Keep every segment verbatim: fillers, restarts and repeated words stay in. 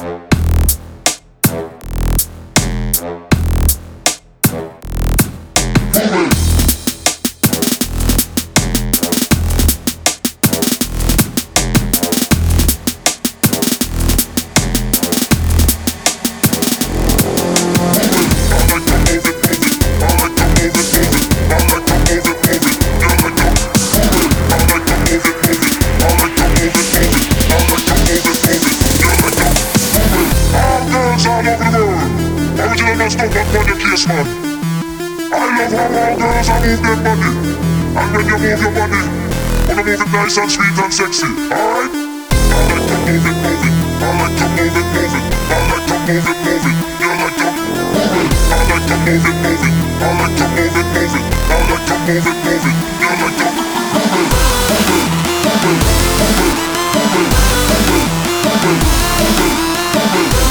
Original stuff up on your case, man. I love how all girls are move their body. And when you move your body, wanna move it nice and sweet and sexy. Alright? I like to move it, move it. I like to move it, move it. I like to move it, move it. You like to move it. I like to move it, move it. I like to move it, move it. I like to move it, move it. You like to move it, move it, move it, move it, move it, move it, move it, move it, move it.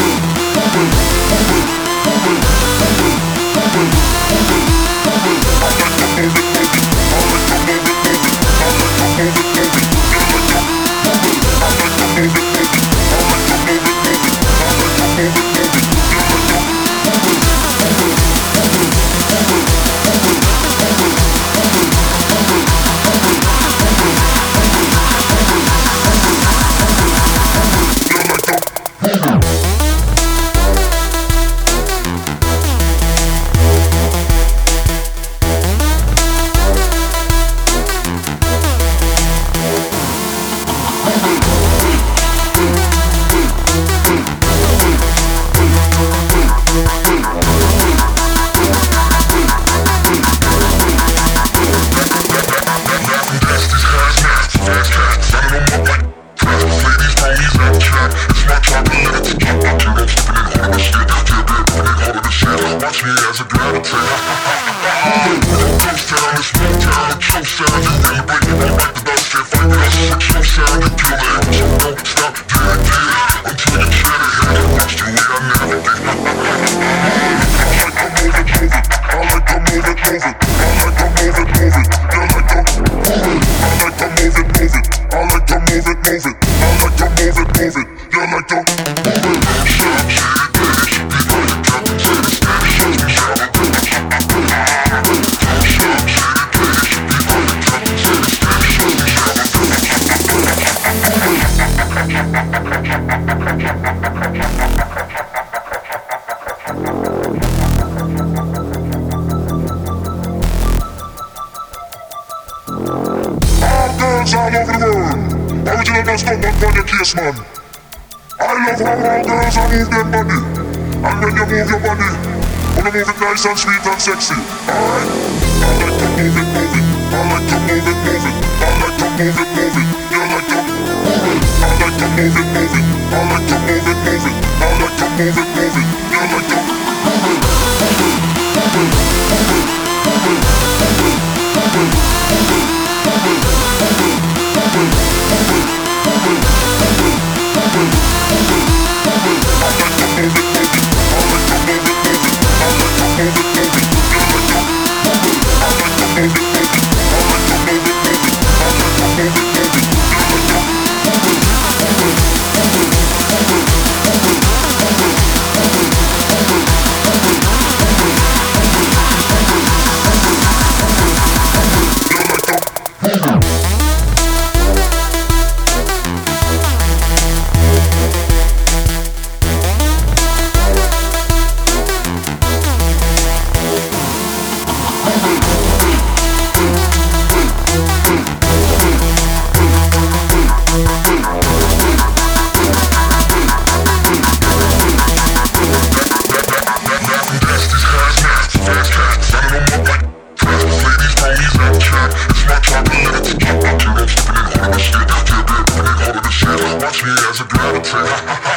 All over the world, original dance come back on your case, man. I love how all girls are move their body. And when you move your body, wanna move it nice and sweet and sexy. Alright? I like to move it, move it. I like to move it, move it. I like to move it, move it. You like to move it. I like to move it, move it. I like to move it, move it. I like to move it, move it. You like to move it, move it, move it, move it, move it, move it, move it, move it, move it. Watch me as I gravitate.